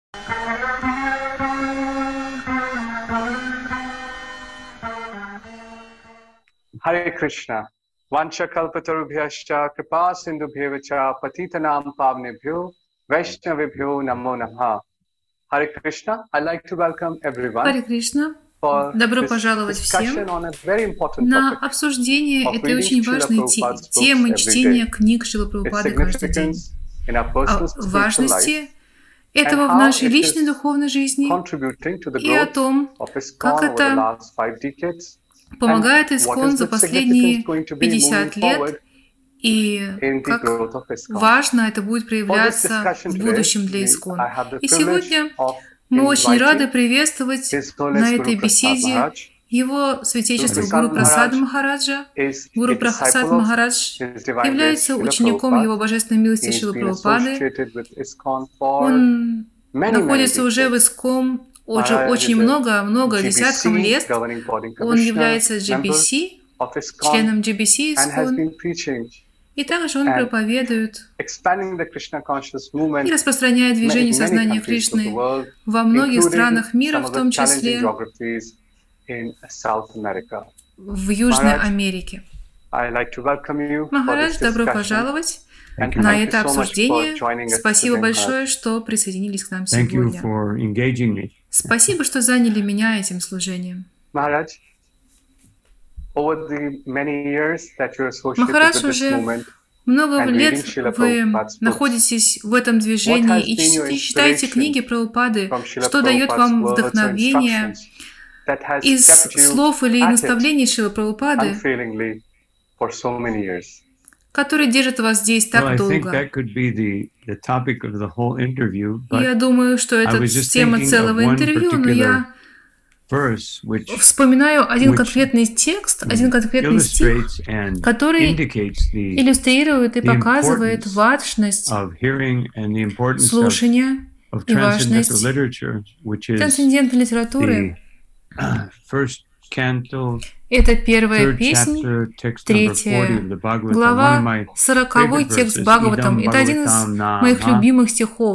Hare Krishna. Vancha kalpatarubhyascha kripa sindhubhyevacha patitanam pavnebhyo vaishnavibhyo namo namaha. Hare Krishna. I'd like to welcome everyone Харе Кришна. for Добро this пожаловать всем discussion on a very important на topic обсуждение of этой reading очень Srila важной Prabhupada's темы books every чтения day, книг Шрилы its Прабхупады каждый день, significance in our о personal spiritual life, важности and этого в how нашей it личной is духовной жизни contributing to the и о growth том, of как ISKCON over the это last 5 decades, помогает and what ИСККОН is за the significance последние going to be moving 50 лет forward и in the как growth of ISKCON. важно это будет For this проявляться discussion в today, будущем для ИСККОН. I have the И privilege сегодня of мы очень рады inviting приветствовать His на Holiness этой Guru Prasad беседе Maharaj. Его Guru Святейшество Prasad Гуру Прасада Maharaj Махараджа. is Гуру a Прасад disciple of Махарадж His Divine Grace является Srila учеником Prabhupada. Его Божественной милости He has Шрилы been Прабхупады. associated with ISKCON for Он many находится уже в decades. ИСККОН уже Maharaj очень is много a десяткам GBC, лет. Governing Body Он Commissioner, является member GBC, of ISKCON, членом GBC and has ИСККОN. been preaching И также он and проповедует expanding the Krishna conscious и movement распространяет in движение many сознания countries of the Кришны world, во многих including странах мира, some в of том the challenging числе geographies in South America. в Южной Maharaj, Америке. I'd like to welcome you for Махарадж, this добро discussion пожаловать and на thank you это so much for обсуждение. joining us Спасибо today, большое, Maharaj. что присоединились к нам Thank you сегодня. for engaging me. Спасибо, что заняли меня этим служением. Maharaj, over the many years that you're associated Махарадж, with this уже movement много and reading лет Srila вы Prabhupada's books, находитесь в этом what движении has и been your читаете inspiration книги Прабхупады, from Srila что дает Prabhupada's вам words or вдохновение instructions that has из kept you слов или at it наставлений Шрилы Прабхупады, unfailingly for so many years? которые держат вас здесь Well, так I think долго. that could be the topic of the whole interview, И я but думаю, что I это was just тема thinking of целого one интервью, но particular я verse which вспоминаю один which конкретный текст, один конкретный стих, illustrates and который indicates the иллюстрирует и the показывает importance важность of hearing and the importance слушания of и transcendental важность literature, which is трансцендентной литературы. the first canto, Это первая third песнь, chapter, text number 40 третья of the Bhagavatam, one of глава, my 40-й favorite текст verses, Бхагаватам. idam Это один из bhagavatam моих nama любимых стихов.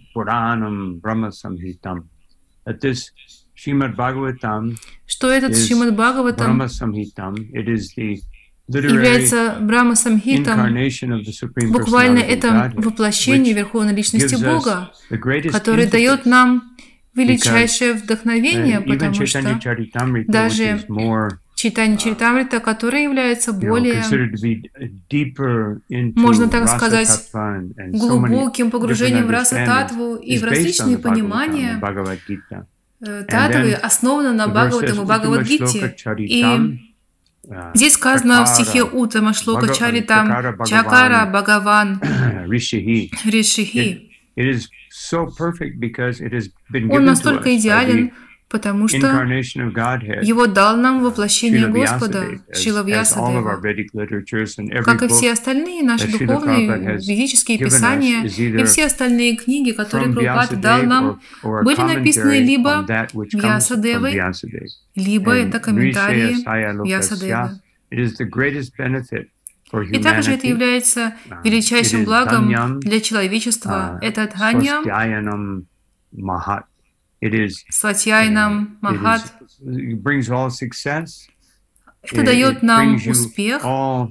Puranam Brahma Samhitam. That this Srimad Bhagavatam Что этот is Шримад Бхагаватам Brahma Samhitam. It is the literary является Брахма Самхитом. incarnation of the Supreme Буквально Personality of это Godhead, воплощение which Верховной Личности gives us Бога, the greatest который impetus, дает нам величайшее вдохновение, even потому Chaitanya что Charitamrita, which даже is more Читание Чаритамрита, которое является более, considered to be deeper into можно так rasa сказать, tattva and so many глубоким погружением в different раса-татву и understandings, в is based on различные the Bhagavatam, понимания the Bhagavad Gita. татвы, then основано на The verse Бхагаватам says, и Бхагавадгите. "Uttama shloka И charitam, здесь сказано в chakara, стихе Уттама Шлока Чаритам chakara Чакара Bhagavan, Бхагаван Rishihi." Ришихи. It is so perfect because it has been Он given to us настолько by идеален, the потому что incarnation of Godhead, его дал нам воплощение Srila Господа, Vyasadeva, Шрила as all of our Вьясадева. Vedic literatures and every Как и book все остальные наши that Srila духовные Prabhupada has ведические given us писания is и either все остальные книги, которые from Прабхупада дал Vyasadeva нам, or a были написаны commentary либо on that which comes from Вьясадевой, Vyasadeva. либо And это комментарии Rishaya Saya Вьясадевы. Lokasya, it is the greatest benefit for И также это humanity. является It величайшим is благом Dhanyam, для человечества. Это Дханьям, Swastyayanam Mahat. It is Сватьяйнам, Махат. it brings all success. Это дает нам brings you успех, all,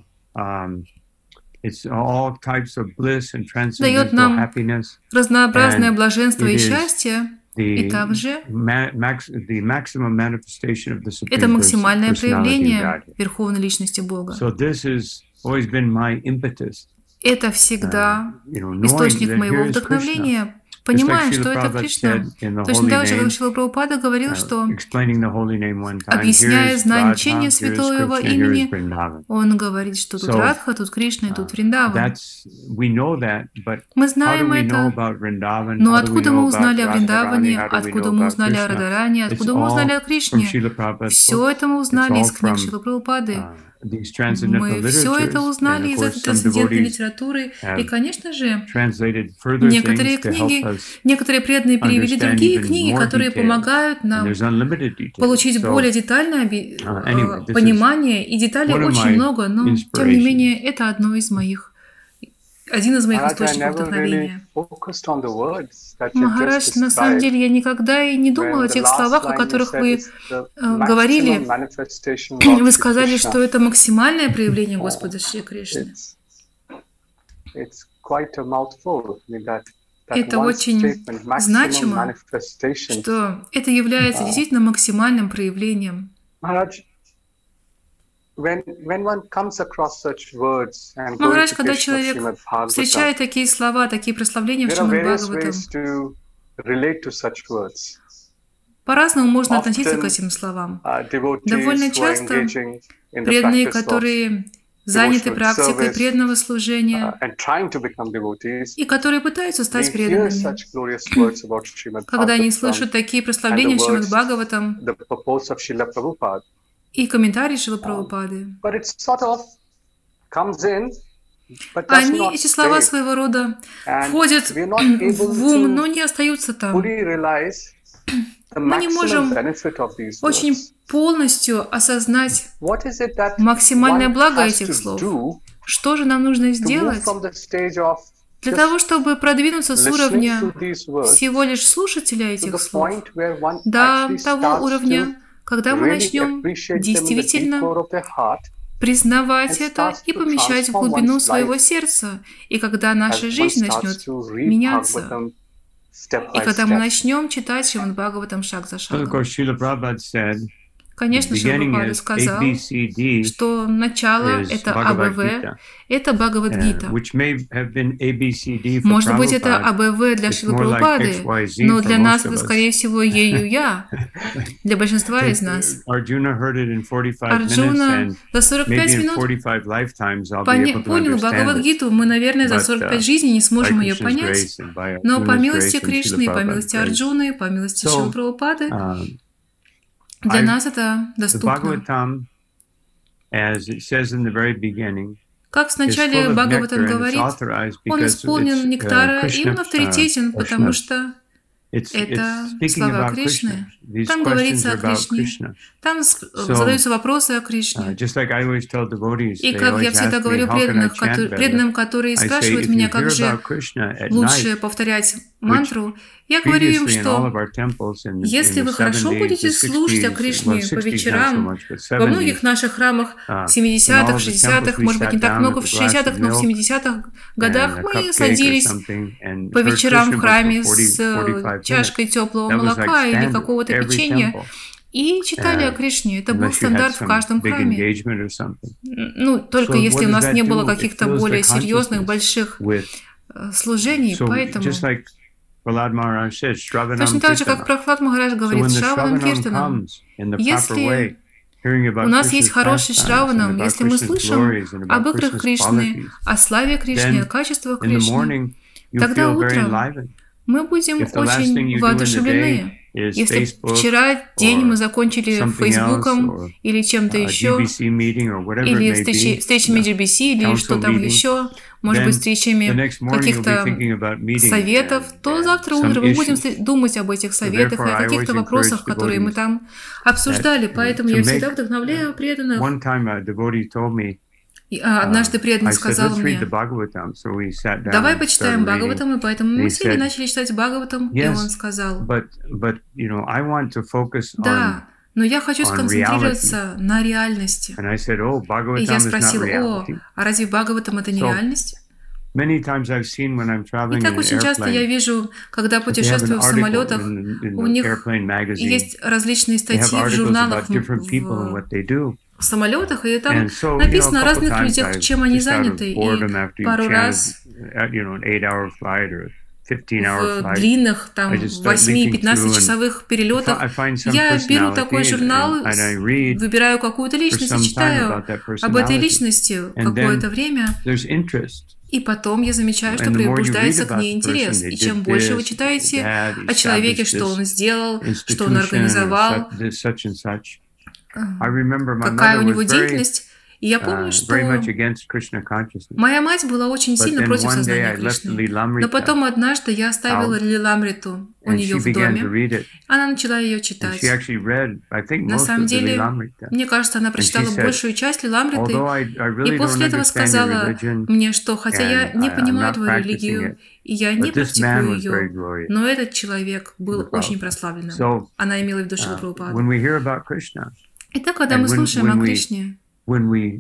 it's all types of bliss and дает transcendental нам happiness. разнообразное And блаженство it и is счастье. И The, также the maximum manifestation of the это Supreme максимальное Personality of проявление Godhead. Верховной Личности Бога. So this has always been my impetus. Это всегда Knowing источник that моего here is Krishna. вдохновения, Just like понимая, Srila что это Prabhupada Кришна. said in the Точно holy так же, как name, Шрила Прабхупада говорил, что, explaining the holy name one time, here объясняя is значение Radha, here is святого Krishna, here is имени, Vrindavan. он говорит, что тут So, Радха, тут Кришна и тут Вриндаван. We know that, but Мы how do знаем we know это, about Vrindavan? но How do we откуда know мы about узнали о Вриндаване, Radharani? How do we откуда know мы about узнали о Krishna? Радаране, It's откуда мы all узнали о from Кришне? Srila Prabhupada's Все book. это мы It's узнали all из книг from Шрилы Прабхупады. these transcendental Мы все это literatures, and узнали of из course этой some трансцендентной devotees литературы. И, have конечно же, translated further некоторые things to help книги, us некоторые преданные перевели understand другие even книги, more которые detail. помогают And нам there's unlimited detail. получить So, более детальное anyway, this is понимание. И деталей one of очень my много, но, тем не inspirations. менее, это одно из моих один из моих Maharaj, I источников never really вдохновения. focused on the words that you just Махарадж, на самом described. деле, я никогда и не думал When о the тех last словах, о line you которых said вы is the maximum говорили. manifestation of Lord Вы Shri сказали, Krishna. что это максимальное проявление Господа Шри Кришны. It's quite a mouthful. I mean, that Это one очень statement, maximum значимо, manifestation. что это является действительно максимальным проявлением. Maharaj, when one comes across such words and Махарадж, когда glorification of человек Srimad Bhagavatam, встречает такие слова, такие прославления в there are Шримад various Бхагаватам, ways to relate to such words. по-разному можно относиться к Often, этим словам. devotees Довольно who are часто engaging in the преданные, practice of которые заняты devotional практикой service, преданного служения and trying to become devotees, и которые пытаются they стать hear преданными, such glorious words about Srimad когда они Bhagavatam слышат такие and прославления the в Шримад words, Бхагаватам the purpose of Srila Prabhupada, и комментарии Шрилы Прабхупады, but it sort of comes in, but does они, not эти слова stay. своего рода, And входят we are not able в ум, to но не остаются там. fully realize the Мы не maximum можем benefit of these очень words. полностью осознать What is it that максимальное one благо has этих to слов. do Что же нам нужно to move сделать from the stage of для just того, чтобы продвинуться с listening уровня to these words всего лишь слушателя to этих the слов point where one до actually того starts to уровня, когда мы really начнем appreciate them in the deep действительно core of their heart, признавать and это starts и to помещать в transform глубину one's своего life сердца, и когда as наша one жизнь starts начнет to read меняться, Bhagavatam step и by когда мы step. начнем читать Шримад Бхагаватам шаг за Well, of шагом. course, Srila Prabhupada said the Конечно, Шрила beginning Прабхупада is сказал, ABCD, что начало is это Bhagavad АБВ, Gita, это Бхагавад-гита. which may have been ABCD for Может быть, это Prabhupada. АБВ для It's Шрилы more like Прабхупады, XYZ но for для most нас of это, us. скорее всего, Е-Ю-Я, для большинства из нас. Arjuna heard it in 45 minutes, Арджуна and за 45 maybe in минут 45 lifetimes I'll be able to понял understand it. Бхагавад-гиту, мы, наверное, за But, 45 жизней не By сможем ее Krishna's понять, grace and by но по Arjuna's милости grace and Кришны, и Srila по Prabhupada's милости grace. Арджуны, и по милости So, Шрилы Прабхупады, для I- нас это the доступно. Bhagavatam, as it says in the very beginning, Как в is full начале of nectar Бхагаватам and it's говорит, authorized он because исполнен it's нектара, и Krishna он авторитетен, потому Krishna. что It's это speaking слова about Кришны. Krishna. These Там questions говорится are о about Кришне. Krishna. Там So, задаются вопросы о Кришне. Just like I always tell devotees, И they как я always всегда ask me, говорю how can I преданным, chant better? преданным, которые I say, спрашивают if меня, you как hear же about Krishna at лучше night, повторять мантру, я говорю им, previously in all что of our temples in если the вы хорошо 70s, будете the слушать о 60s, Кришне well, по 60s not so вечерам, much, but во 70s, многих наших храмах в in all 70-х, of the 60-х, temples we может быть, не sat так down много with в a glass 60-х, of но в milk 70-х and годах a мы cupcake or садились something and по heard вечерам в Krishna храме for с 45 minutes. чашкой теплого That was like молока или standard какого-то every печенья temple, и читали о Кришне. Это был unless you had стандарт в some каждом big храме. engagement or something. Ну, только So если what у does нас that не было do? It каких-то fills the более серьезных, consciousness больших with служений, So поэтому just like Prahlad Maharaj said, Shravanam точно так же, как Kirtanam. Прахлад Махарадж So говорит, when the Шраванам Shravanam Киртанам, comes in the proper если way, hearing about у нас есть Krishna's хороший pastimes and Шраванам, about если мы Krishna's слышим glories and об about играх Krishna's Кришны, qualities, о славе Кришны, then о качествах in the Кришны, morning you тогда feel very утром enlivened. мы будем If the last thing очень you do in the day воодушевлены. is Если Facebook вчера день or мы закончили something else Фейсбуком or или чем-то еще, GBC meeting or whatever it или may be, встречами GBC, или council что там meeting, еще, может then быть, the встречами next morning you'll be каких-то thinking about meeting советов, то завтра some утром мы будем issues. думать об этих советах и therefore, о I каких-то always вопросах, encourage которые мы devotees там обсуждали. Поэтому to я всегда make- вдохновляю преданных. One time a devotee told me, Однажды I преданный said, сказал let's read мне, the Bhagavatam. So we sat down давай and почитаем started reading. Бхагаватам, и поэтому мы And he сели и said, начали читать Бхагаватам, и Yes, он сказал, but you know, I want to focus on. да, но я хочу on сконцентрироваться на реальности. And I said, oh, И Bhagavatam я is not спросил, reality. а разве Бхагаватам это не So, реальность? Many times I've seen when I'm И traveling in так an очень часто я airplane, вижу, когда they have an путешествую в article самолетах, in у the них airplane magazine. есть различные They have статьи в articles журналах, about different people and what they do. в самолетах, и там And so, написано о a couple разных times людях, I've чем они just out of заняты. И boredom after you пару chanted, раз an 8-hour flight or 15-hour в flight, длинных, там, I just start looking 8-15-часовых перелетах I find some я беру personality такой журнал, and I read выбираю какую-то личность for и some time читаю about that об этой personality. личности And какое-то then время, there's interest. и потом я замечаю, что And the more you read пробуждается к about ней the интерес. person, И they чем did больше вы this, читаете they did that, о человеке, established что он this сделал, что он institution or организовал, such and such. I remember my какая mother у него was very деятельность. И я помню, что very much against Krishna consciousness. моя мать была очень But сильно then против one day сознания I left Кришны. Lilamrita Но потом однажды я оставила out, Лиламриту у and нее she в began to доме. read it. Она начала ее And читать. she actually read, I think, На most самом of the деле, Lilamrita. мне кажется, она And she прочитала said, большую часть Лиламриты. although I И really don't после этого understand your сказала religion, мне, что хотя я and не I'm понимаю not твою practicing религию, it, и я не but this man практикую was very ее, glorious. но этот человек был Prabhupada. очень прославленным. So, Она имела в виду Шрила Прабхупаду. when we hear about Krishna, Итак, когда and мы слушаем о Кришне, when we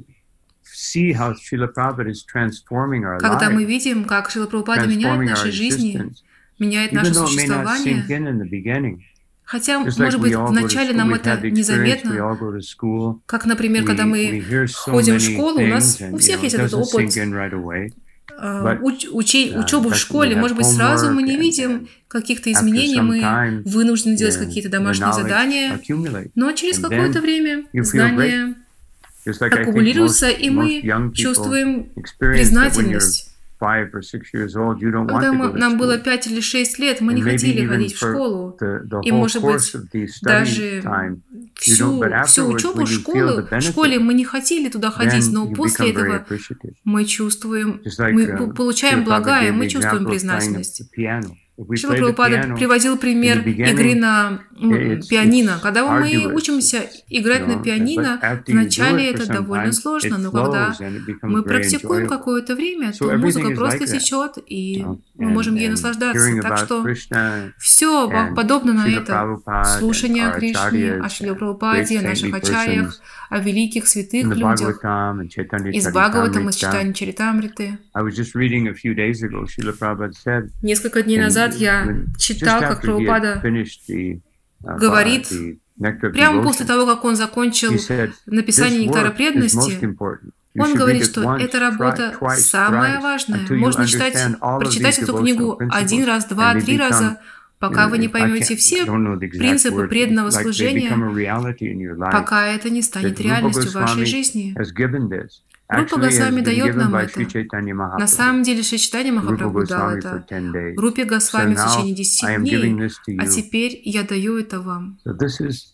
see how Srila Prabhupada is transforming our когда мы lives, видим, как Шрила Прабхупада меняет transforming our наши жизни, existence, меняет even наше though it may not существование, sink in the beginning. хотя, Just like может we быть, all go to вначале school, нам we've это had the experience, we незаметно, all go to school, как, например, когда we мы hear so ходим в many школу, у нас things, у and всех it есть этот doesn't опыт sink in right away. But, учебы в we школе. have Может быть, сразу мы не homework, видим and каких-то after изменений, some мы time, вынуждены делать the какие-то домашние knowledge задания, accumulates. но через And какое-то then время you feel знания Just like I think аккумулируются, most и мы young people чувствуем experience that when you're признательность. 5 or 6 years old, you don't want Когда to go to нам было school. 5 или 6 лет, мы не And maybe хотели even ходить в for школу. the И, whole может быть, course of the study даже time, you всю don't, but afterwards, учебу when you feel the в школе benefit, мы не хотели туда ходить, then но you после become very этого appreciative. мы чувствуем, Just like мы получаем Srila Prabhupada благое, gave мы the чувствуем example of playing признательность. the piano. If we Шрила play the Прабхупада piano, приводил пример in the beginning, игры на it's пианино. Когда мы arduous, учимся играть на пианино, but after you do вначале it for это some довольно time, сложно, it но когда flows and it becomes мы very практикуем enjoyable. какое-то время, So то музыка everything is просто like that. течет, и And- мы можем ей and наслаждаться. hearing Так about что Krishna все and подобно на Srila это. Prabhupada Слушание and о our Кришне, acharyas о Шриле and Прабхупаде, о great наших saintly ачарьях, persons о великих in святых the людях, Bhagavatam and Chaitanya из Бхагаватам, из Charitamrita. Читания Чаритамриты. I was just reading a few days ago, Srila Prabhupada said, Несколько дней назад я when- читал, just как after he had Прабхупада finished the, говорит, the Nectar of прямо после Devotion, того, как он закончил he said, написание "This «Нектара work is most преданности», important. You он should говорит, read it что once, эта работа twice, самая thrice, важная. until you Можно читать, understand all of прочитать these эту devotional книгу principles, один раз, два, and they три become, раза, пока вы не I поймете can't- все I don't know the exact принципы word, преданного like they служения, become a reality in your life. пока это не станет That Rupa реальностью в вашей Goswami жизни. has given this. Рупа Actually, has Госвами been дает given нам by это. Sri Chaitanya На Mahaprabhu. самом деле Шри Чайтанья Rupa Махапрабху дал Goswami for это 10 days. Рупе So Госвами в now течение I 10 am giving дней, this to а you. теперь я даю это вам. So this is,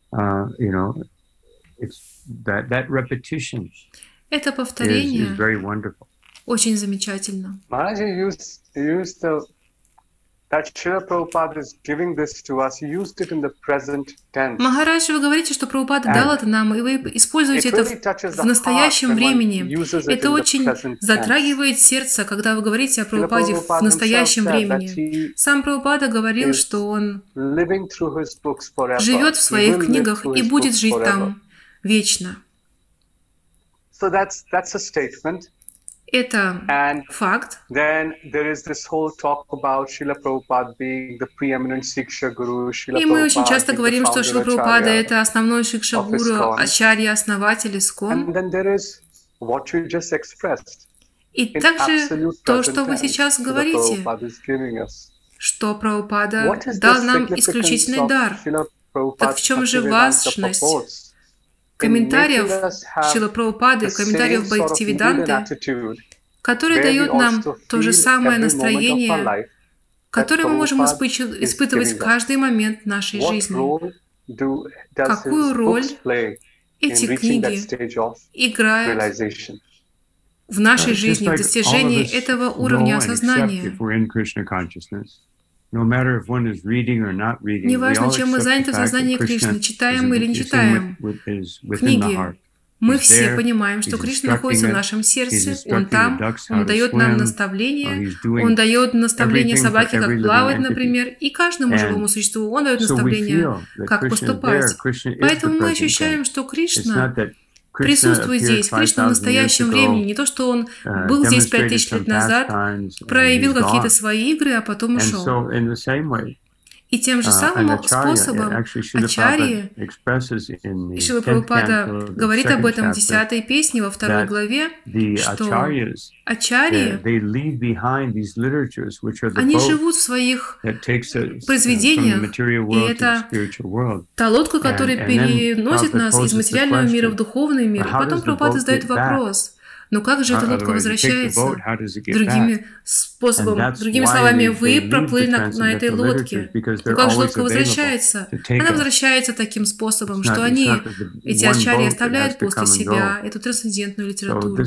you know, it's that repetition Это is повторение very wonderful. очень замечательно. Maharaj, you used that Srila Prabhupada is giving this to us. He used it in the present tense. Махарадж, вы говорите, что Прабхупада дал это нам, и вы используете это в настоящем времени. Это очень затрагивает сердце, когда вы говорите о Прабхупаде в настоящем времени. Сам Прабхупада говорил, что он живет в своих книгах и будет жить там вечно. So that's a statement. Это And факт. then there is this whole talk about Srila Prabhupada being the preeminent Siksha Guru. Srila И мы очень Prabhupada часто being the говорим, что founder Шрила Прабхупада — Acharya. это основной шикша-гуру, ачарья, основатель Искон. And then there is what you just expressed. И In также absolute то, present что вы tense, сейчас Srila говорите, Prabhupada is giving us. что Прабхупада What is дал the нам significance исключительный of дар. Srila Prabhupada's Так в чем же Bhaktivedanta важность purports in комментариев making us have Шрила Прабхупады, the комментариев same sort of mood and Бхактивиданты, attitude, который where we дает нам also то же feel самое every moment of our настроение, life которое мы можем Prabhupada is испытывать giving в us. каждый момент нашей What жизни. role does Какую his роль books play in эти reaching that книги stage of играют realization? в нашей Just жизни, в like достижении all of us этого know уровня and accept осознания. if we're in Krishna consciousness, no matter if one is reading or not reading, we Неважно, all чем мы accept заняты the в fact сознании that Кришны, Krishna читаем мы или не is читаем within the книги, heart. мы He's все there, понимаем, что he's Кришна находится в instructing нашем he's сердце, instructing Он там, the ducks how Он to дает нам swim, наставления, he's doing Он дает наставления everything собаке, for every как living плавать, entity. например, и каждому And живому существу Он дает so we наставления, feel that как Krishna is поступать. there, Krishna is the Поэтому мы present ощущаем, tense. что It's Кришна not that Krishna присутствует appeared здесь. Кришна в 5,000 years настоящем ago, времени. Не то, что Он был здесь 5000 demonstrated лет some назад, pastimes, and проявил he's какие-то gone. свои игры, а потом And ушел. so in the same way, И тем же an самым acharya, способом actually Srila ачарьи, Prabhupada expresses in the и Шрила 10th Прабхупада canto of the говорит об second этом в chapter 10-й песне во 2 that главе, the что acharyas, ачарьи, they leave behind these literatures, which are the они boat живут в своих that takes us from the произведениях, material и world to the это spiritual world. та лодка, которая And then переносит Prabhupada нас из poses the материального мира в question, духовный мир. И how потом does the Прабхупада boat задает get back? вопрос, Но как же эта лодка возвращается? Другими словами, вы проплыли на этой лодке. Но как же лодка возвращается? Она возвращается таким способом, что они, эти ачарьи, оставляют после себя эту трансцендентную литературу.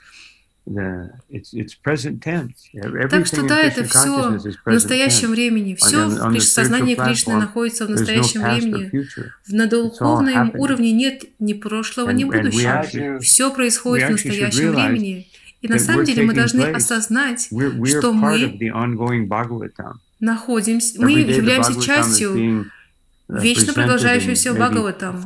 Так что да, это все в настоящем времени. Все в сознании Кришны находится в настоящем времени. На духовном уровне нет ни прошлого, ни будущего. Все происходит в настоящем времени. И на самом деле мы должны осознать, что мы являемся частью вечно продолжающегося Бхагаватам.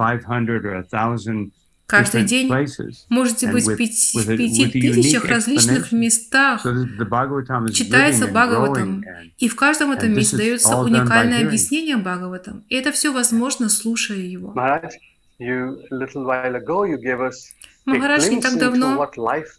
Каждый день можете быть в 5000 различных местах читается Бхагаватам, и в каждом этом месте дается уникальное объяснение Бхагаватам. И это все возможно, слушая его. Махарадж, не так давно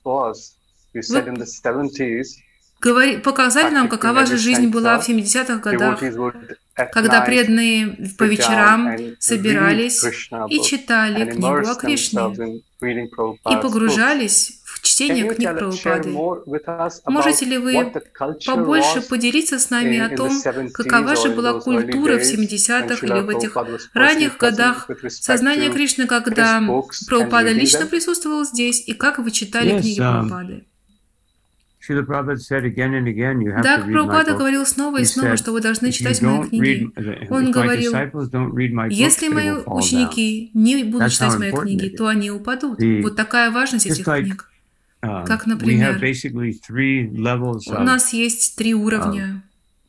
вы показали нам, какова же жизнь была в 70-х годах, когда преданные по вечерам собирались и читали книгу о Кришне и погружались в чтение книг Прабхупады. Можете ли вы побольше поделиться с нами о том, какова же была культура в 70-х или в этих ранних годах сознания Кришны, когда Прабхупада лично присутствовал здесь, и как вы читали книги Прабхупады? Да, Прабхупада говорил снова и снова, что вы должны читать мои книги. Он говорил, если мои ученики не будут читать мои книги, то они упадут. Вот такая важность этих книг. Как, например, у нас есть 3 уровня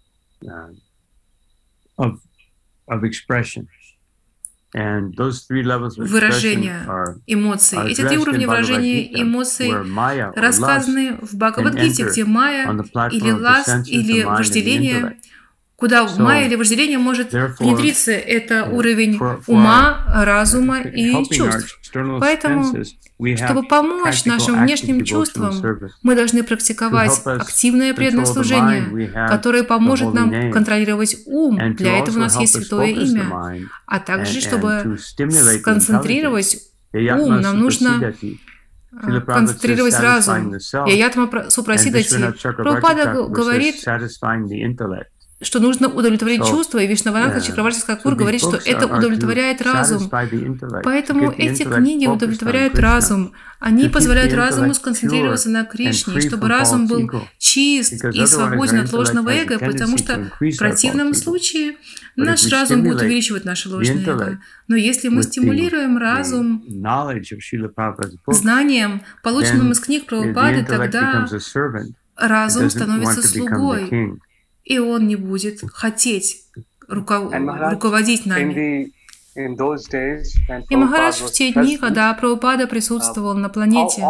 выражения эмоций. Эти 3 уровня выражения эмоций рассказаны в Бхагавад-гите, где майя или ласт, или вожделение, куда майя или вожделение может внедриться. Это уровень ума, разума и чувств. Поэтому, чтобы помочь нашим внешним чувствам, мы должны практиковать активное преданное служение, которое поможет нам контролировать ум. Для этого у нас есть святое имя. А также, чтобы сконцентрировать ум, нам нужно концентрировать разум. Яятма Супрасидати. Прабхупада говорит, что нужно удовлетворить чувства, и Вишнаванатха Чакраварти Такур говорит, что это удовлетворяет разум. Поэтому эти книги удовлетворяют разум. Они позволяют разуму сконцентрироваться на Кришне, чтобы разум был чист и свободен от ложного эго, потому что в противном случае наш разум будет увеличивать наше ложное эго. Но если мы стимулируем разум знанием, полученным из книг Прабхупады, тогда разум становится слугой, и он не будет хотеть руководить нами. И Махарадж в те дни, когда Прабхупада присутствовал на планете,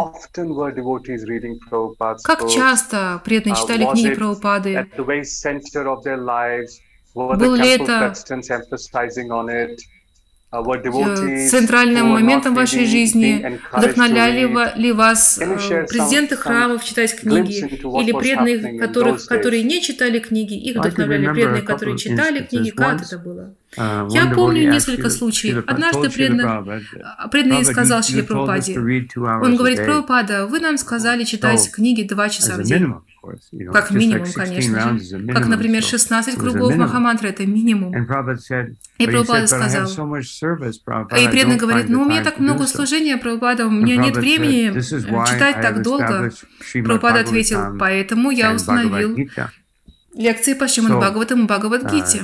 как часто преданные читали книги Прабхупады? Был ли это центральным моментом вашей жизни? Вдохновляли ли вас президенты храмов читать книги? Или преданные, которые не читали книги, их вдохновляли преданные, которые читали книги? Как это было? Я помню несколько случаев. Однажды преданный сказал Шриле Прабхупаде, он говорит: Прабхупада, вы нам сказали читать книги 2 часа в день. Как минимум, конечно же. Как, например, 16 кругов Махамантры – это минимум. И Прабхупада сказал, и преданный говорит: ну, у меня так много служения, Прабхупада, у меня нет времени читать так долго. Прабхупада ответил: поэтому я установил лекции по Шримад Бхагаватам и Бхагавад-гите.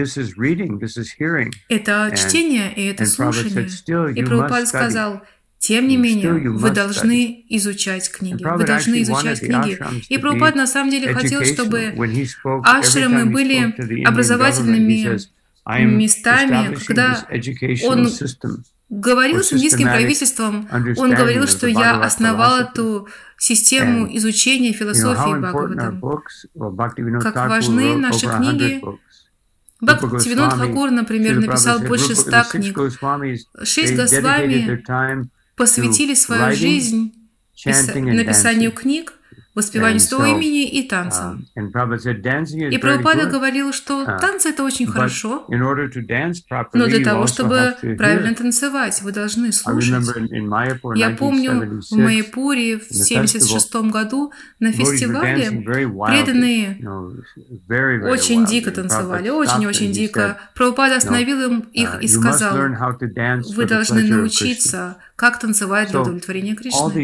Это чтение и это слушание. И Прабхупада сказал: тем не менее, вы должны изучать книги. Вы должны изучать книги. И Прабхупада на самом деле хотел, чтобы ашрамы были образовательными местами, когда он говорил с индийским правительством, он говорил, что я основал эту систему изучения философии Бхагаватам. Как важны наши книги. Бхактивинод Тхакур, например, написал больше 100 книг. 6 Госвами посвятили свою жизнь написанию книг, воспеванию своего имени и танцам. И Прабхупада говорил, что танцы — это очень хорошо, но для того, чтобы правильно танцевать, вы должны слушать. Я помню, в Майяпуре в 1976 году на фестивале преданные очень дико танцевали, очень-очень дико. Прабхупада остановил их и сказал: вы должны научиться, как танцевать для удовлетворения Кришны.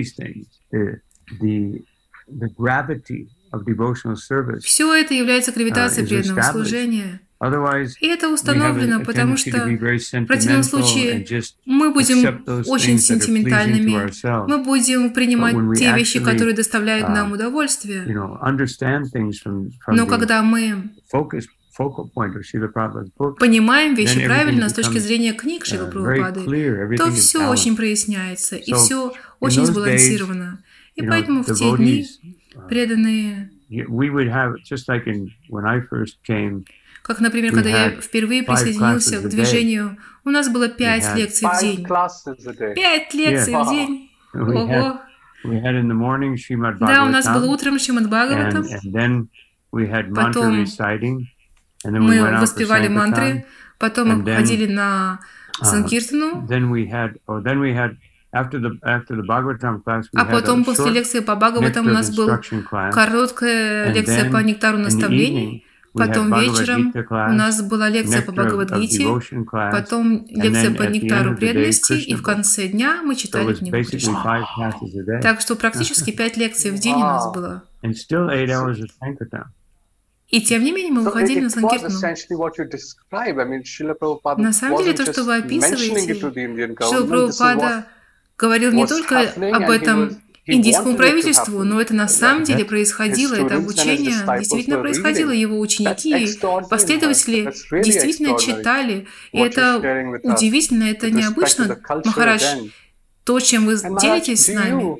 Все это является гравитацией преданного служения. И это установлено, потому что в противном случае мы будем очень сентиментальными, мы будем принимать те вещи, которые доставляют нам удовольствие. Но когда мы понимаем вещи правильно с точки зрения книг Шрилы Прабхупады, то все очень проясняется, и все очень сбалансировано. И поэтому в те дни преданные, как, например, когда я впервые присоединился к движению, у нас было 5 лекций в день. 5 лекций в день! Ого! Да, у нас было утром Шримад Бхагаватам, потом мы воспевали мантры, потом мы ходили на Санкиртану, а потом после лекции по Бхагаватам у нас была короткая лекция по нектару наставлений, потом вечером у нас была лекция по Бхагавад-гите, потом лекция по нектару преданности, и в конце дня мы читали книгу Кришны. Так что практически 5 лекций в день у нас было. И тем не менее мы уходили на Санкиртану. На самом деле то, что вы описываете, Шрила Прабхупада говорил не только об этом индийскому правительству, но это на самом деле происходило, это обучение действительно происходило, его ученики, последователи действительно читали, и это удивительно, это необычно, Махарадж, то, чем вы делитесь с нами.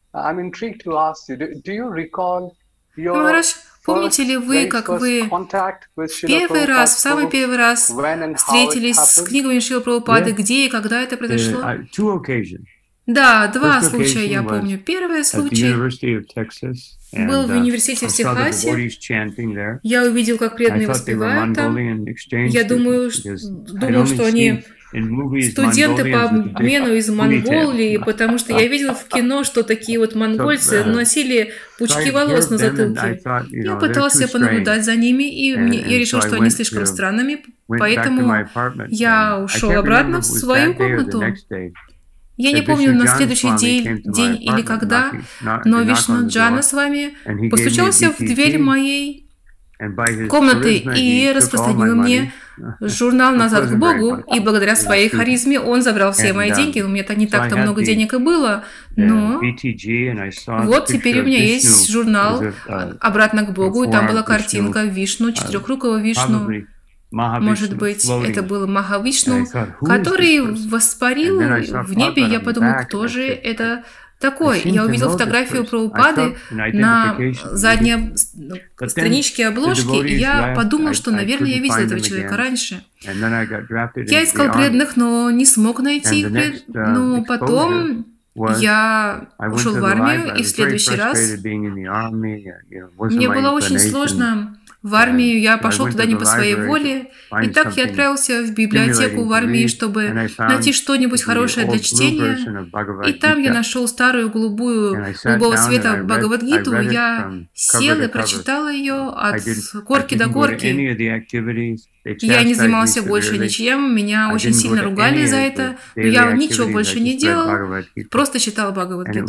Махарадж, помните ли вы, как вы в самый первый раз встретились с книгами Шрилы Прабхупады, где и когда это произошло? Да, 2 случая я помню. Первый случай был в университете в Техасе. Я увидел, как преданные воспевают там. Я думал, что они студенты по обмену из Монголии, потому что я видел в кино, что такие вот монгольцы носили пучки волос на затылке. Я пытался понаблюдать за ними, и я решил, что они слишком странными, поэтому я ушел обратно в свою комнату. Я не помню, на следующий день или когда, но Вишну Джана с вами постучался в дверь моей комнаты и распространил мне журнал «Назад к Богу», и благодаря своей харизме он забрал все мои деньги. У меня не так-то много денег и было, но вот теперь у меня есть журнал «Обратно к Богу», и там была картинка Вишну, 4-рукого Вишну. Может быть, это был Махавишну, который воспарил в небе. Я подумал, кто же это такой? Я увидел фотографию Прабхупады на задней страничке обложки, и я подумал, что, наверное, я видел этого человека раньше. Я искал преданных, но не смог найти их. Но потом я ушел в армию, и в следующий раз мне было очень сложно. В армию я пошел туда не по своей воле, и так я отправился в библиотеку в армии, чтобы найти что-нибудь хорошее для чтения, и там я нашел старую голубого света Бхагавад-гиту, я сел и прочитал ее от корки до корки. Я не занимался больше ничем, меня очень сильно ругали за это, но я ничего больше не делал, просто читал Бхагавад-гиту.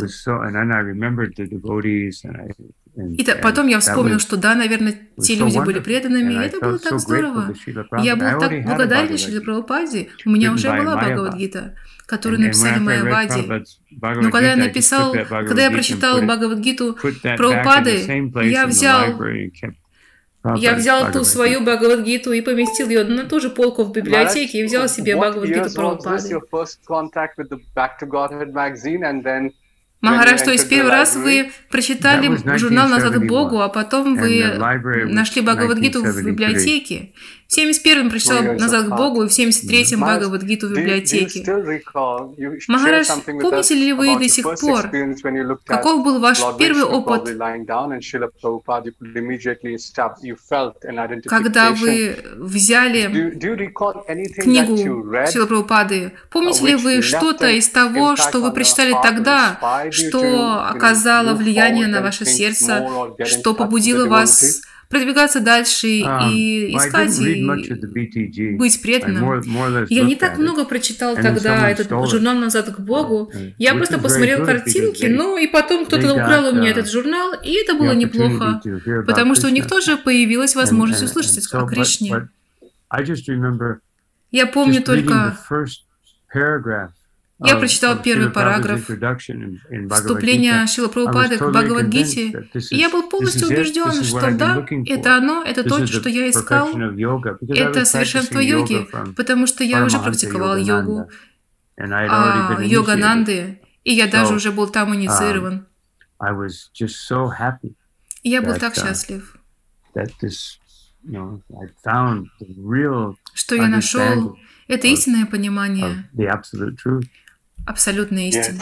И потом я вспомнил, что да, наверное, те люди были преданными, и это было так здорово. Я был так благодарен Шриле Прабхупаде. У меня уже была Бхагавад-гита, которую написали Майявади. Но когда я прочитал Бхагавад-гиту Прабхупады, я взял ту свою Бхагавад-гиту и поместил ее на ту же полку в библиотеке и взял себе Бхагавад-гиту Прабхупады. Махарадж, то есть первый раз вы прочитали журнал «Назад к Богу», а потом вы нашли Бхагавад-гиту в библиотеке. В 71-м прочитал «Назад к Богу», и в 73-м Бхагавад-гиту в библиотеке. Махарадж, помните ли вы до сих пор, каков был ваш первый опыт, когда вы взяли книгу Шрилы Прабхупады? Помните ли вы что-то из того, что вы прочитали тогда, что оказало влияние на ваше сердце, что побудило вас продвигаться дальше и искать, и быть преданным? Я не так много прочитал тогда этот журнал «Назад к Богу». Я просто посмотрел картинки, и потом кто-то украл у меня этот журнал, и это было неплохо, потому что у них тоже появилась возможность услышать о Кришне. Я помню только... Я прочитал первый параграф вступления Шрилы Прабхупады к Бхагавад-гите, и я был полностью убежден, что да, это оно, это то, что я искал, это совершенство йоги, потому что я уже практиковал йогу, Йогананды, и я даже уже был там инициирован. И я был так счастлив, что я нашел это истинное понимание, абсолютная истина.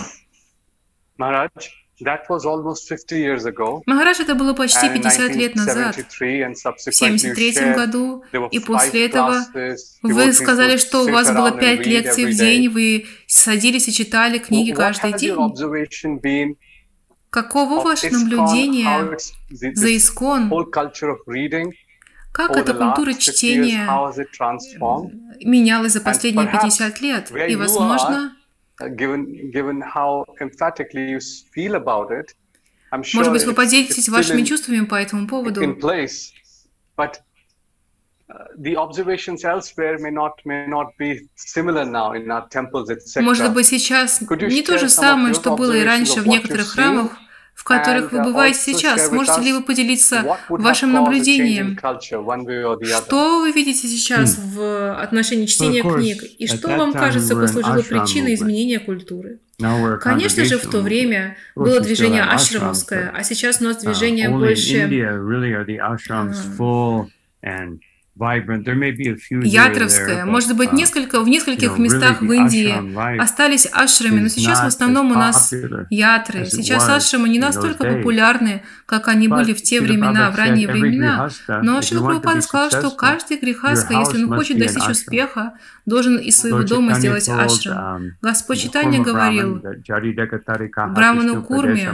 Махарадж, это было почти 50 лет назад, в 1973 году, и после этого вы сказали, что у вас было 5 лекций в день, вы садились и читали книги каждый день. Каково ваше наблюдение за ИСККОН? Как эта культура чтения менялась за последние 50 лет? И, возможно, может быть, вы поделитесь вашими чувствами по этому поводу. Может быть, сейчас не то же самое, что было и раньше в некоторых храмах, в которых вы бываете сейчас. Можете ли вы поделиться вашим наблюдением? Что вы видите сейчас в отношении чтения книг? И что вам кажется послужило причиной изменения культуры? Конечно же, в то время было движение ашрамовское, а сейчас у нас движение больше ятровское. Может быть, в нескольких местах в Индии остались ашрамы, но сейчас в основном у нас ятры. Сейчас ашрамы не настолько популярны, как они были в те времена, в ранние времена. Но Шрила Прабхупада сказал, что каждый грихаска, если он хочет достичь успеха, должен из своего дома сделать ашрам. Господь Чайтанья говорил Браману Курме,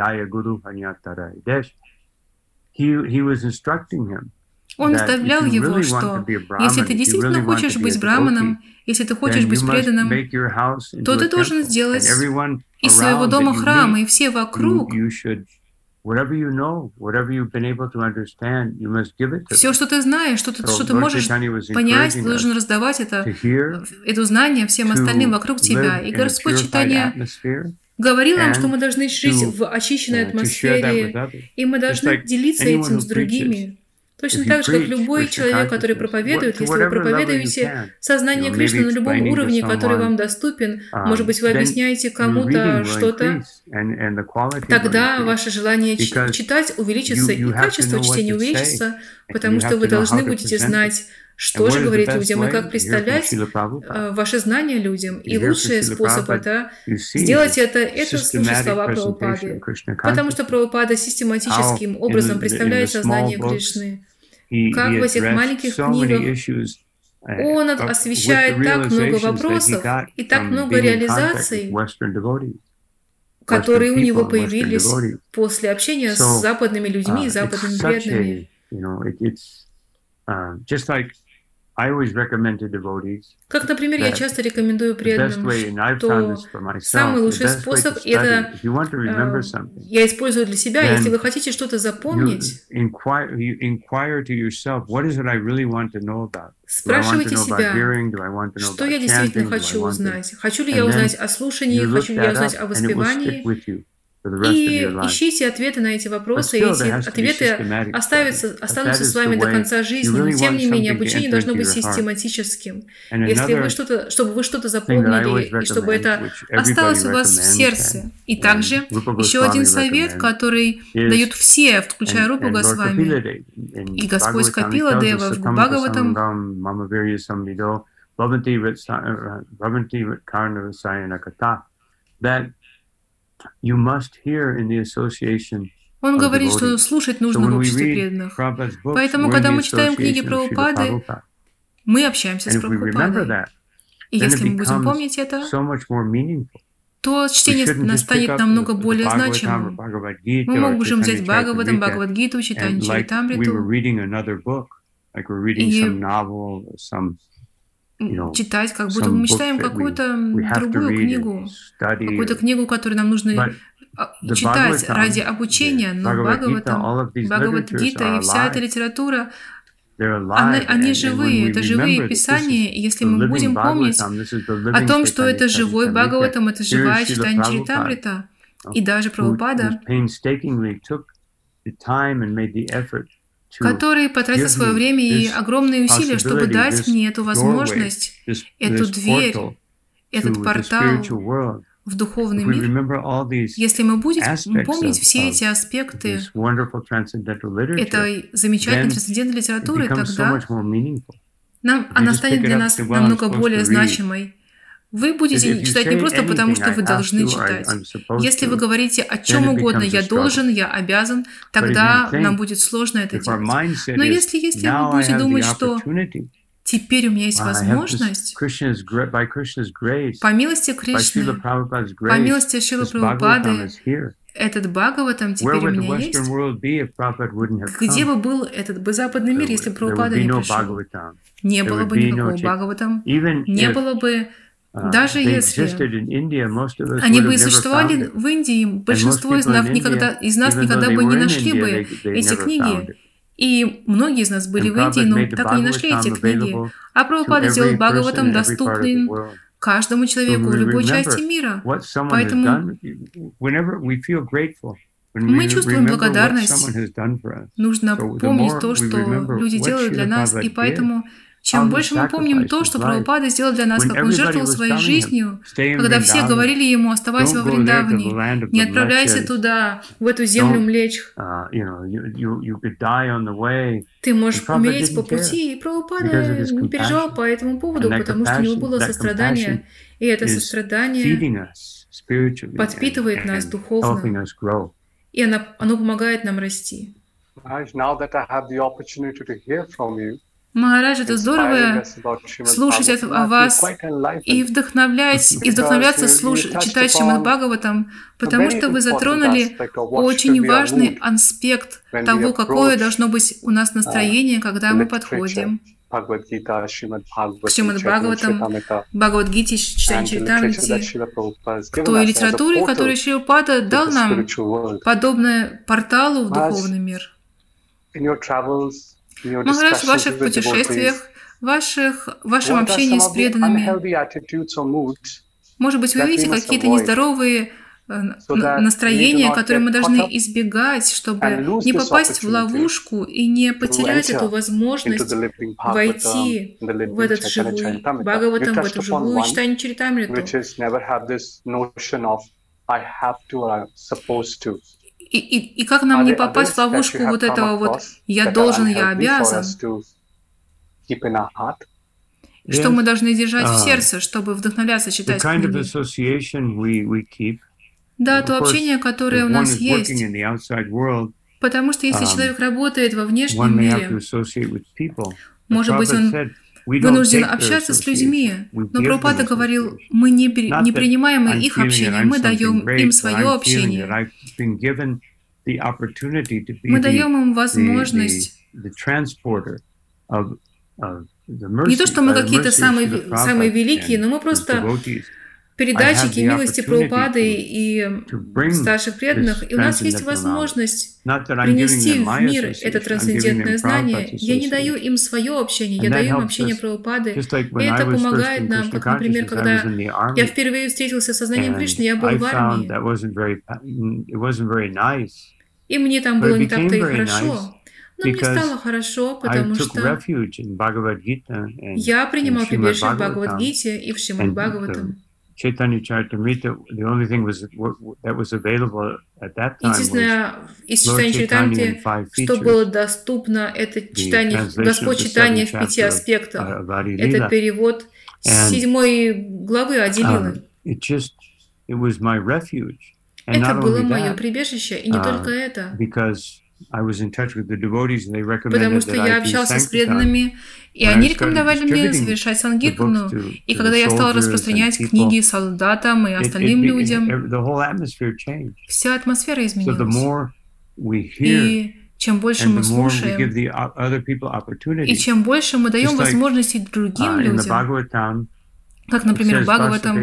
он наставлял его, что если ты действительно хочешь быть браманом, если ты хочешь быть преданным, то ты должен сделать из своего дома храм, и все вокруг. Все, что ты знаешь, что ты можешь понять, ты должен раздавать это знание всем остальным вокруг тебя. И Господь Чайтанья говорил нам, что мы должны жить в очищенной атмосфере, и мы должны делиться этим с другими. Точно так же, как любой человек, который проповедует, если вы проповедуете сознание Кришны на любом уровне, который вам доступен, может быть, вы объясняете кому-то что-то, тогда ваше желание читать увеличится, и качество чтения увеличится, потому что вы должны будете знать, что же говорить людям и как представлять ваши знания людям. И лучший способ это сделать это слушать слова Прабхупады, потому что Прабхупада систематическим образом представляет сознание Кришны. Как в этих маленьких книгах он освещает так много вопросов и так много реализаций, которые у него появились после общения с западными людьми и западными преданными. Как, например, я часто рекомендую преданным, что самый лучший способ – это я использую для себя, если вы хотите что-то запомнить, спрашивайте себя, что я действительно хочу узнать. Хочу ли я узнать о слушании, хочу ли я узнать о воспевании, И ищите ответы на эти вопросы, и эти ответы останутся с вами до конца жизни. Но тем не менее, обучение должно быть систематическим. Если вы чтобы вы что-то запомнили, и чтобы это осталось у вас в сердце. И также еще один совет, который дают все, включая Рупу Госвами. И Господь Капила Дева в Бхагаватам он говорит, что слушать нужно в обществе преданных. Поэтому, когда мы читаем книги Прабхупады, мы общаемся с Прабхупадой. И если мы будем помнить это, то чтение станет намного более значимым. Мы можем взять Бхагаватам, Бхагавад-гиту, Чайтанья Чаритамриту и читать, как будто мы читаем какую-то другую книгу, какую-то книгу, которую нам нужно читать ради обучения, но Бхагаватам, Бхагавад-гита и вся эта литература, они живые, это живые писания, и если мы будем помнить о том, что это живой Бхагаватам, это живая Чайтанья Чаритамрита, и даже Прабхупада, который потратил свое время и огромные усилия, чтобы дать мне эту возможность, эту дверь, этот портал в духовный мир. Если мы будем помнить все эти аспекты этой замечательной трансцендентной литературы, тогда она станет для нас намного более значимой. Вы будете читать не просто потому, что вы должны читать. Если вы говорите о чем угодно, я должен, я обязан, тогда нам будет сложно это делать. Но если вы будете думать, что теперь у меня есть возможность, по милости Кришны, по милости Шрилы Прабхупады, этот Бхагаватам теперь у меня есть. Где бы был этот западный мир, если бы Прабхупада не пришел? Не было бы никакого Бхагаватам, не было бы. Даже если они бы существовали в Индии, большинство из нас никогда бы не нашли бы эти книги. И многие из нас были в Индии, но так и не нашли эти книги. А Прабхупада сделал Бхагаватам доступным каждому человеку в любой части мира. Поэтому мы чувствуем благодарность. Нужно помнить то, что люди делают для нас, и поэтому чем больше мы помним то, что Прабхупада сделал для нас, как он жертвовал своей жизнью, когда все говорили ему: оставайся во Вриндаване, не отправляйся туда, в эту землю млечь. Ты можешь умереть по пути, и Прабхупада не переживал по этому поводу, потому что у него было сострадание, и это сострадание подпитывает нас духовно, и оно помогает нам расти. Махарадж, это здорово слушать о вас и вдохновляться читать Шримад Бхагаватам, потому что вы затронули очень важный аспект того, какое должно быть у нас настроение, когда мы подходим к Шримад Бхагаватам, Бхагавад-гите, Чайтанья Чаритамрите, к той литературе, которую Шрила Прабхупада дал нам, подобное порталу в духовный мир. Махарадж, в ваших путешествиях, в вашем общении с преданными, может быть, вы видите какие-то нездоровые настроения, которые мы должны избегать, чтобы не попасть в ловушку и не потерять эту возможность войти в этот живой Бхагаватам, в эту живую Чайтанью Чаритамриту. И как нам не попасть в ловушку вот этого вот «я должен, я обязан», что мы должны держать в сердце, чтобы вдохновляться читать книги. Да, то общение, которое у нас есть. Потому что если человек работает во внешнем мире, может быть, он вынужден общаться с людьми. Но Прабхупада говорил, мы не принимаем их общение, мы даем им свое общение. Мы даем им возможность не то, что мы какие-то самые великие, но мы просто передатчики милости Прабхупады и старших преданных, и у нас есть возможность принести в мир это трансцендентное знание. Я не даю им свое общение, я даю им общение Прабхупады, и это помогает нам, как, например, когда я впервые встретился с сознанием Кришны, я был в армии, и мне там было не так-то и хорошо. Но мне стало хорошо, потому что я принимал прибежище в Бхагавад-гите и в Шримад Бхагаватам. Единственное, из читания Чайтамрити, что было доступно, это читание, Господь читания в 5 аспектах. Это перевод 7 главы Ади-лилы. Это было мое прибежище, и не только это. Потому что я общался с преданными, и они рекомендовали мне совершать сангиртану. И когда я стал распространять книги солдатам и остальным людям, вся атмосфера изменилась. И чем больше мы слушаем, и чем больше мы даем возможности другим людям, как, например, в Бхагаватам,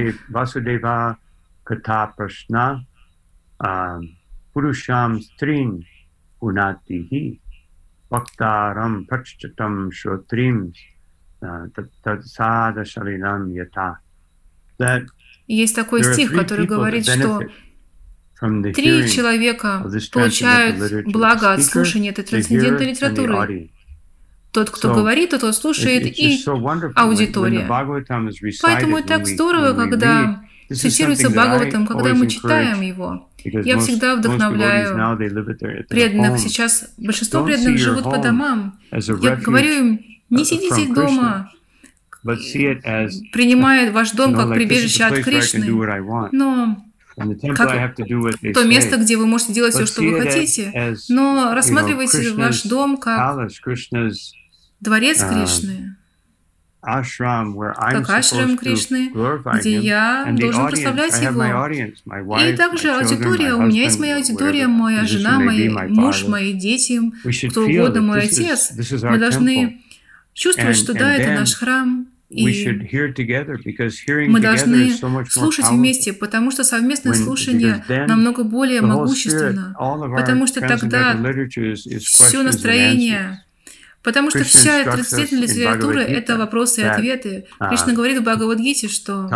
Unatihi Bhaktaram Prachchatam Shrotrim Tatsada Shalinam Yata. Есть такой стих, который говорит, что 3 человека получают благо от слушания этой трансцендентной литературы. Тот, кто говорит, тот, кто слушает, и аудитория. Поэтому так здорово, когда цитируется Бхагаватам, когда мы читаем его. Я всегда вдохновляю преданных. Сейчас большинство преданных живут по домам. Я говорю им, не сидите дома, принимая ваш дом как прибежище от Кришны, но как то место, где вы можете делать все, что вы хотите, но рассматривайте ваш дом как дворец Кришны, как ашрам Кришны, где я должен прославлять его. И также аудитория. У меня есть моя аудитория, моя жена, мой муж, мои дети, кто угодно, мой отец. Мы должны чувствовать, что да, это наш храм. И мы должны слушать вместе, потому что совместное слушание намного более могущественно, потому что тогда все настроение... Потому что вся трансцендентная литература – это вопросы и ответы. Кришна говорит в Бхагавад-гите, что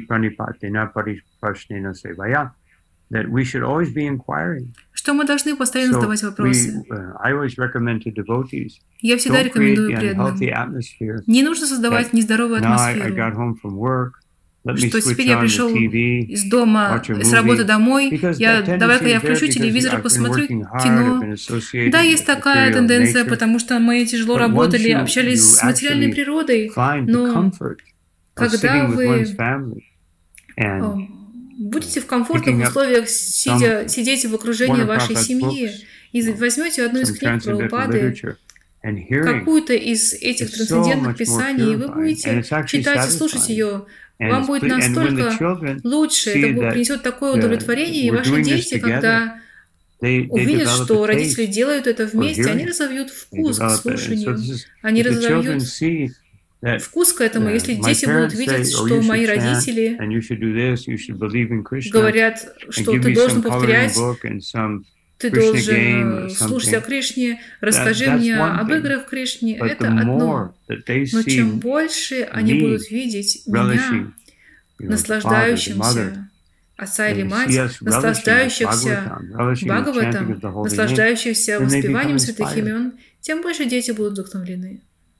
мы должны постоянно задавать вопросы. Я всегда рекомендую преданным. Не нужно создавать нездоровую атмосферу. Что теперь я пришел из дома, с работы домой, давай-ка я включу телевизор и посмотрю кино. Да, есть такая тенденция, потому что мы тяжело работали, общались с материальной природой, но когда вы будете в комфортных условиях сидеть в окружении вашей семьи и возьмете одну из книг Прабхупады, какую-то из этих трансцендентных писаний, и вы будете читать и слушать ее, вам будет настолько лучше, это принесет такое удовлетворение, и ваши дети, когда увидят, что родители делают это вместе, они разовьют вкус к слушанию, они разовьют вкус к этому. Если дети будут видеть, что мои родители говорят, что ты должен повторять, ты должен слушать о Кришне, расскажи мне об играх в Кришне, это одно. Но чем больше они будут видеть меня, наслаждающимся, отца или мать, наслаждающихся Бхагаватом, наслаждающихся воспеванием святых имен, тем больше дети будут вдохновлены.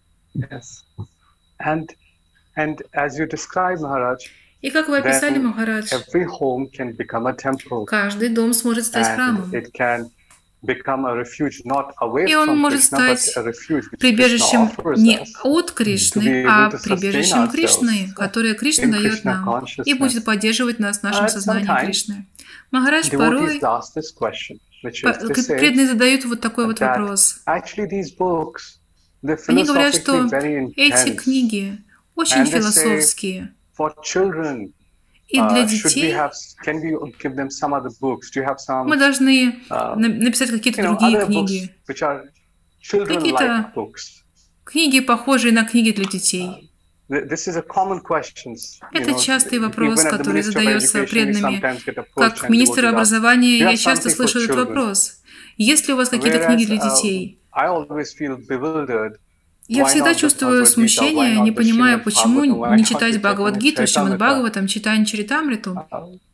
И как вы описали, Махарадж, каждый дом сможет стать храмом. И он может стать прибежищем не от Кришны, а прибежищем Кришны, которое Кришна дает нам, и будет поддерживать нас в нашем сознании Кришны. Махарадж порой преданные задают вот такой вот вопрос. Они говорят, что эти книги очень философские. И для детей мы должны написать какие-то другие книги. Какие-то книги, похожие на книги для детей. Это частый вопрос, который задается преданными. Как министр образования я часто слышу этот вопрос. Есть ли у вас какие-то книги для детей? Я всегда чувствую смущение, не понимая, почему не читать Бхагавад-гиту, Шримад Бхагаватам, читать Чаритамриту.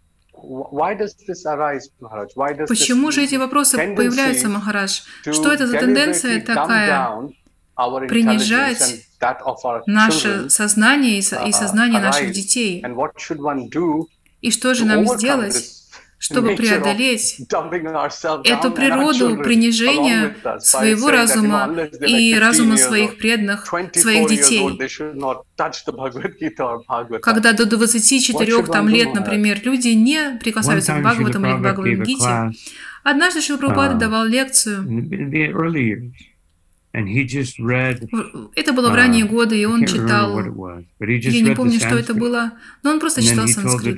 Почему же эти вопросы появляются, Махарадж? Что это за тенденция такая принижать наше сознание и сознание наших детей? И что же нам сделать, чтобы преодолеть эту природу принижения своего разума и разума своих преданных, своих детей? Когда до 24 лет, например, люди не прикасаются к Бхагаватам или к Бхагавад-гите. Однажды Шрила Прабхупада давал лекцию. Это было в ранние годы, и он читал, я не помню, что это было, но он просто читал санскрит.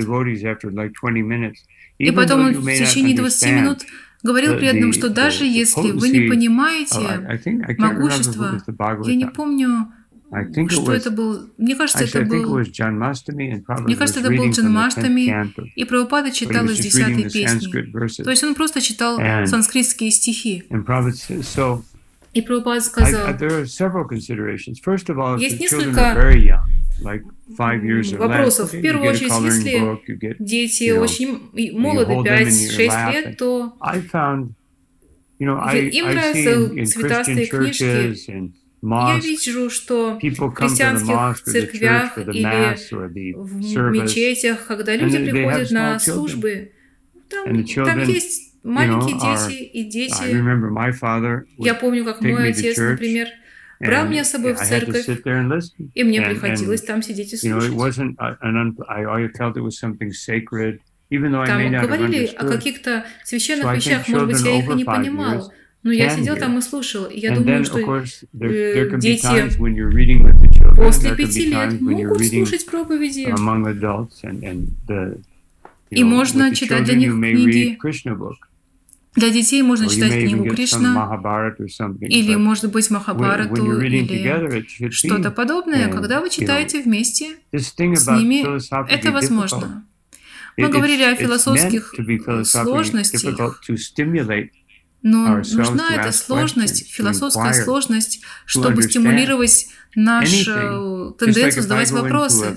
И потом он в течение 20 минут говорил преданным, что даже если вы не понимаете могущество, я не помню, что это был, мне кажется, это был Джанмаштами, и Прабхупада читал из 10-й песни. То есть он просто читал санскритские стихи. И Прабхупада сказал, есть несколько вопросов. В первую очередь, если дети очень молоды, 5-6 лет, то им нравятся цветастые книжки. Я вижу, что в христианских церквях или в мечетях, когда люди приходят на службы, там есть маленькие дети и дети. Я помню, как мой отец, например, брал меня с собой в церковь, и мне приходилось там сидеть и слушать. Там говорили о каких-то священных вещах, может быть, я их и не понимал, но я сидел там и слушал, и я думаю, что дети после 5 лет могут слушать проповеди, и можно читать для них книги. Для детей можно читать книгу Кришна, или, может быть, Махабхарату, или что-то подобное. Когда вы читаете вместе с ними, это возможно. Мы говорили о философских сложностях, но нужна эта сложность, философская сложность, чтобы стимулировать нашу тенденцию задавать вопросы.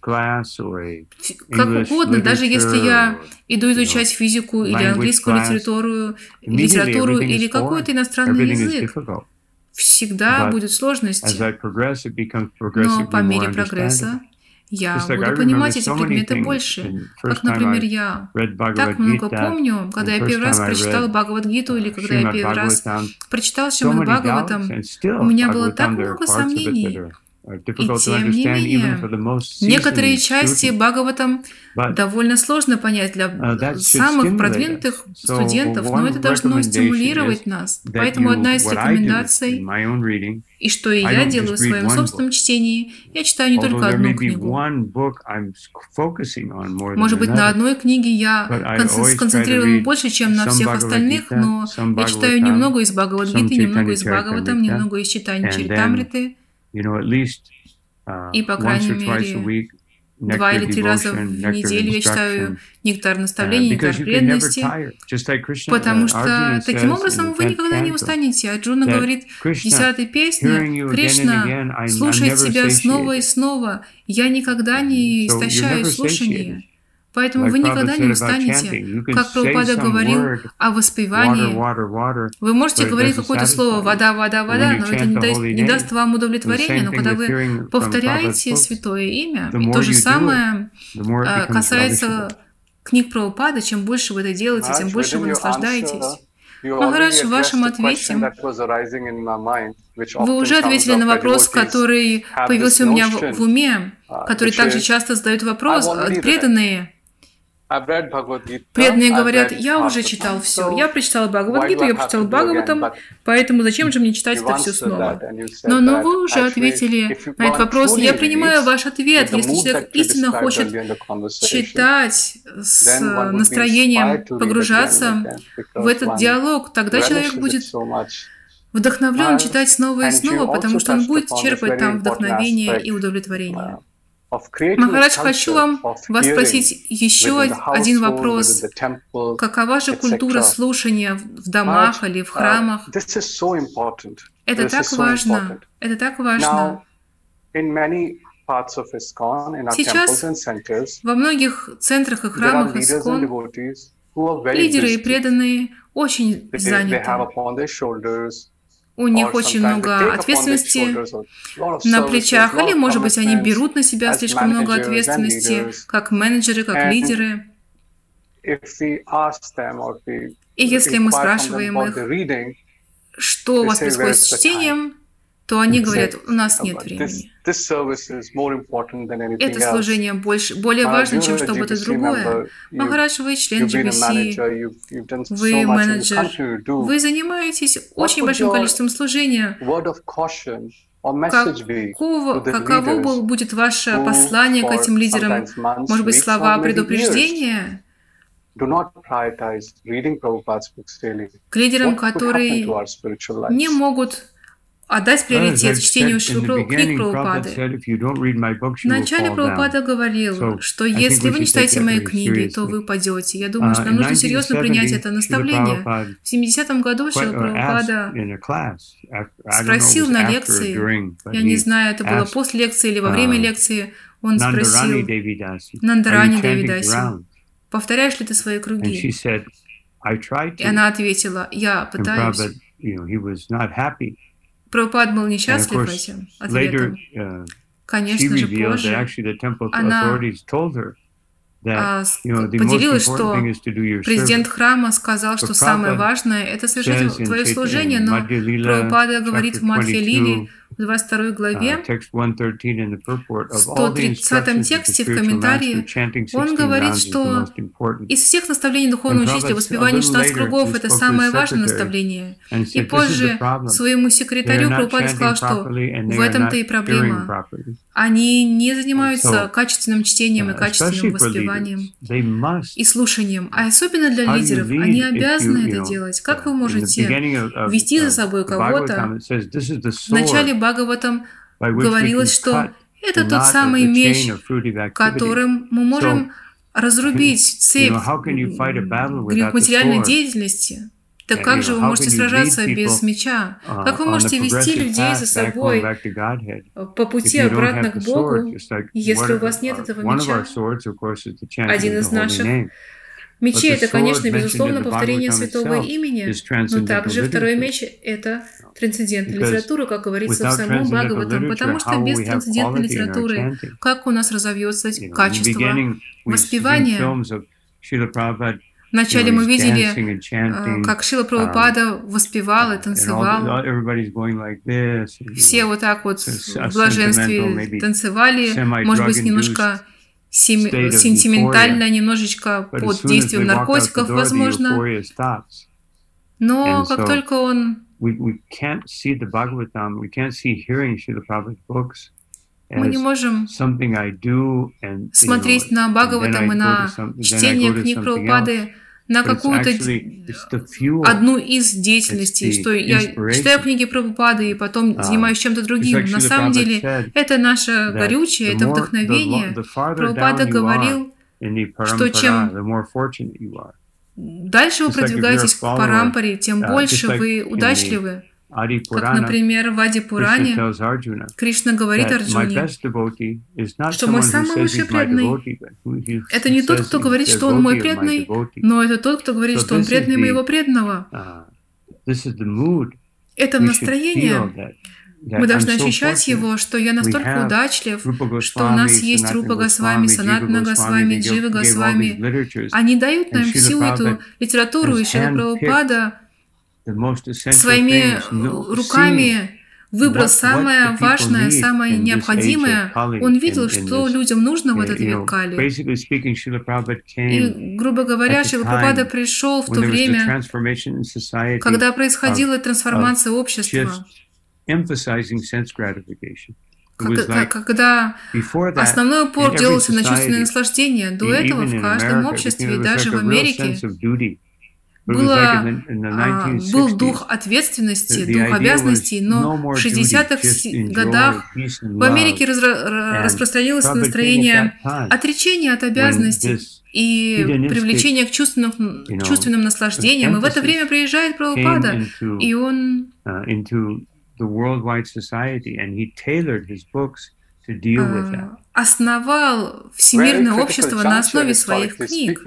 Как угодно, даже если я иду изучать физику или английскую литературу или какой-то иностранный язык, всегда будет сложность. Но по мере прогресса я буду понимать эти предметы больше. Как, например, я так много помню, когда я первый раз прочитала Бхагавад-гиту, или когда я первый раз прочитала Шримад Бхагаватам, у меня было так много сомнений. И тем не менее, некоторые части Бхагаватам довольно сложно понять для самых продвинутых студентов, но это должно стимулировать нас. Поэтому одна из рекомендаций, и что и я делаю в своем собственном чтении, я читаю не только одну книгу. Может быть, на одной книге я сконцентрирован больше, чем на всех остальных, но я читаю немного из Бхагавад-гиты, немного из Бхагаватам, немного из читания Чаритамриты. И, по крайней мере, 2 или 3 раза в неделю я читаю нектар наставлений, нектар преданности, потому что таким образом вы никогда не устанете. Арджуна говорит в 10-й песне: «Кришна слушает тебя снова и снова, я никогда не истощаю слушание». Поэтому вы никогда не устанете. Как Прабхупада говорил о воспевании. Вы можете говорить какое-то слово «вода, вода, вода», но это не даст вам удовлетворения. Но когда вы повторяете святое имя, и то же самое касается книг Прабхупады, чем больше вы это делаете, тем больше вы наслаждаетесь. Махарадж, в вашем ответе вы уже ответили на вопрос, который появился у меня в уме, который также часто задают вопрос преданные. Преданные говорят: я уже читал все, я прочитал Бхагавад-гиту, я прочитал Бхагаватам, поэтому зачем же мне читать это все снова? Но вы уже ответили на этот вопрос. Я принимаю ваш ответ. Если человек истинно хочет читать с настроением, погружаться в этот диалог, тогда человек будет вдохновлен читать снова и снова, потому что он будет черпать там вдохновение и удовлетворение. Махарадж, хочу вас спросить еще один вопрос. Какова же культура слушания в домах или в храмах? Это так важно. Это так важно. Сейчас во многих центрах и храмах Искон лидеры и преданные очень заняты. У них очень много ответственности на плечах, или, может быть, они берут на себя слишком много ответственности, как менеджеры, как лидеры. И если мы спрашиваем их, что у вас происходит с чтением, то они говорят, у нас нет времени. Это служение более важно, чем что-то другое. Махарадж, вы член GBC, вы менеджер, вы занимаетесь очень большим количеством служения. Каково будет ваше послание к этим лидерам? Может быть, слова предупреждения? К лидерам, которые не могут отдать приоритет чтению книг Прабхупады. Вначале Прабхупада говорил, что если вы не читаете мои книги, то вы падете. Я думаю, что нам нужно серьезно принять это наставление. В 70-м году Шрила Прабхупада спросил на лекции, я не знаю, это было после лекции или во время лекции, он спросил Нандарани Девидаси, повторяешь ли ты свои круги? И она ответила, я пытаюсь. Прабхупад был несчастлив этим ответом. Конечно же, позже она поделилась, что президент храма сказал, что самое важное – это совершить твое служение, но Прабхупада говорит в Мадхья-лиле, в 22 главе, в 130 тексте, в комментарии, он говорит, что из всех наставлений духовного учителя воспевание 16 кругов – это самое важное наставление. И позже своему секретарю Прабхупада сказал, что в этом-то и проблема. Они не занимаются качественным чтением и качественным воспеванием и слушанием. А особенно для лидеров, они обязаны это делать. Как вы можете вести за собой кого-то? В начале Бхагаватам говорилось, что это тот самый меч, которым мы можем разрубить цепь материальной деятельности. Так как же вы можете сражаться без меча? Как вы можете вести людей за собой по пути обратно к Богу, если у вас нет этого меча? Один из наших мечей – это, конечно, безусловно, повторение святого имени, но также второй меч – это трансцендентная литература, как говорится в самом Бхагаватам, потому что без трансцендентной литературы как у нас разовьется качество воспевания? Вначале мы видели, как Шрила Прабхупада воспевал и танцевал. Все вот так вот в блаженстве танцевали, может быть, немножко сентиментально, немножечко под действием наркотиков, возможно. Но как только он... Мы не можем смотреть на Бхагаватам и на чтение книг Прабхупады на какую-то одну из деятельностей, что я читаю книги Прабхупады и потом занимаюсь чем-то другим. На самом деле это наше горючее, это вдохновение. Прабхупада говорил, что чем дальше вы продвигаетесь к Парампаре, тем больше вы удачливы. Как, например, в Ади-Пуране Кришна говорит Арджуне, что мой самый лучший преданный – это не тот, кто говорит, что он мой преданный, но это тот, кто говорит, что он преданный моего преданного. Это настроение. Мы должны ощущать его, что я настолько удачлив, что у нас есть Рупа Госвами, Санатана Госвами, Джива Госвами. Они дают нам всю эту литературу, и Шрила Прабхупада своими руками выбрал самое важное, самое необходимое. Он видел, что людям нужно в этот век Кали. И, грубо говоря, Шрила Прабхупада пришел в то время, когда происходила трансформация общества, когда основной упор делался на чувственное наслаждение. До этого в каждом обществе, даже в Америке, был дух ответственности, дух обязанностей, но в 60-х годах в Америке распространилось настроение отречения от обязанностей и привлечения к чувственным наслаждениям. И в это время приезжает Прабхупада, и он основал всемирное общество на основе своих книг.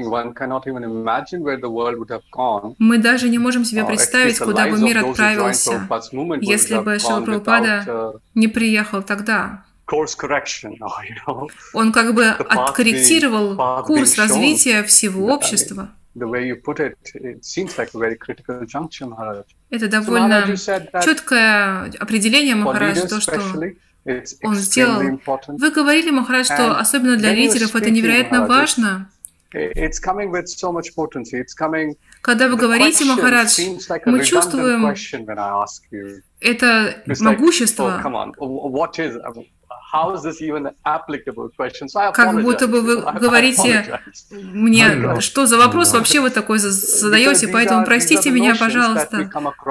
Мы даже не можем себе представить, куда бы мир отправился, если бы Шрила Прабхупада не приехал тогда. Он как бы откорректировал курс развития всего общества. Это довольно четкое определение, Махарадж, то, что он сделал. Вы говорили, Махарадж, что особенно для лидеров это невероятно важно. Когда вы говорите, Махарадж, мы чувствуем это могущество. Как будто бы вы говорите мне, что за вопрос вообще вы такой задаете, поэтому простите меня, пожалуйста.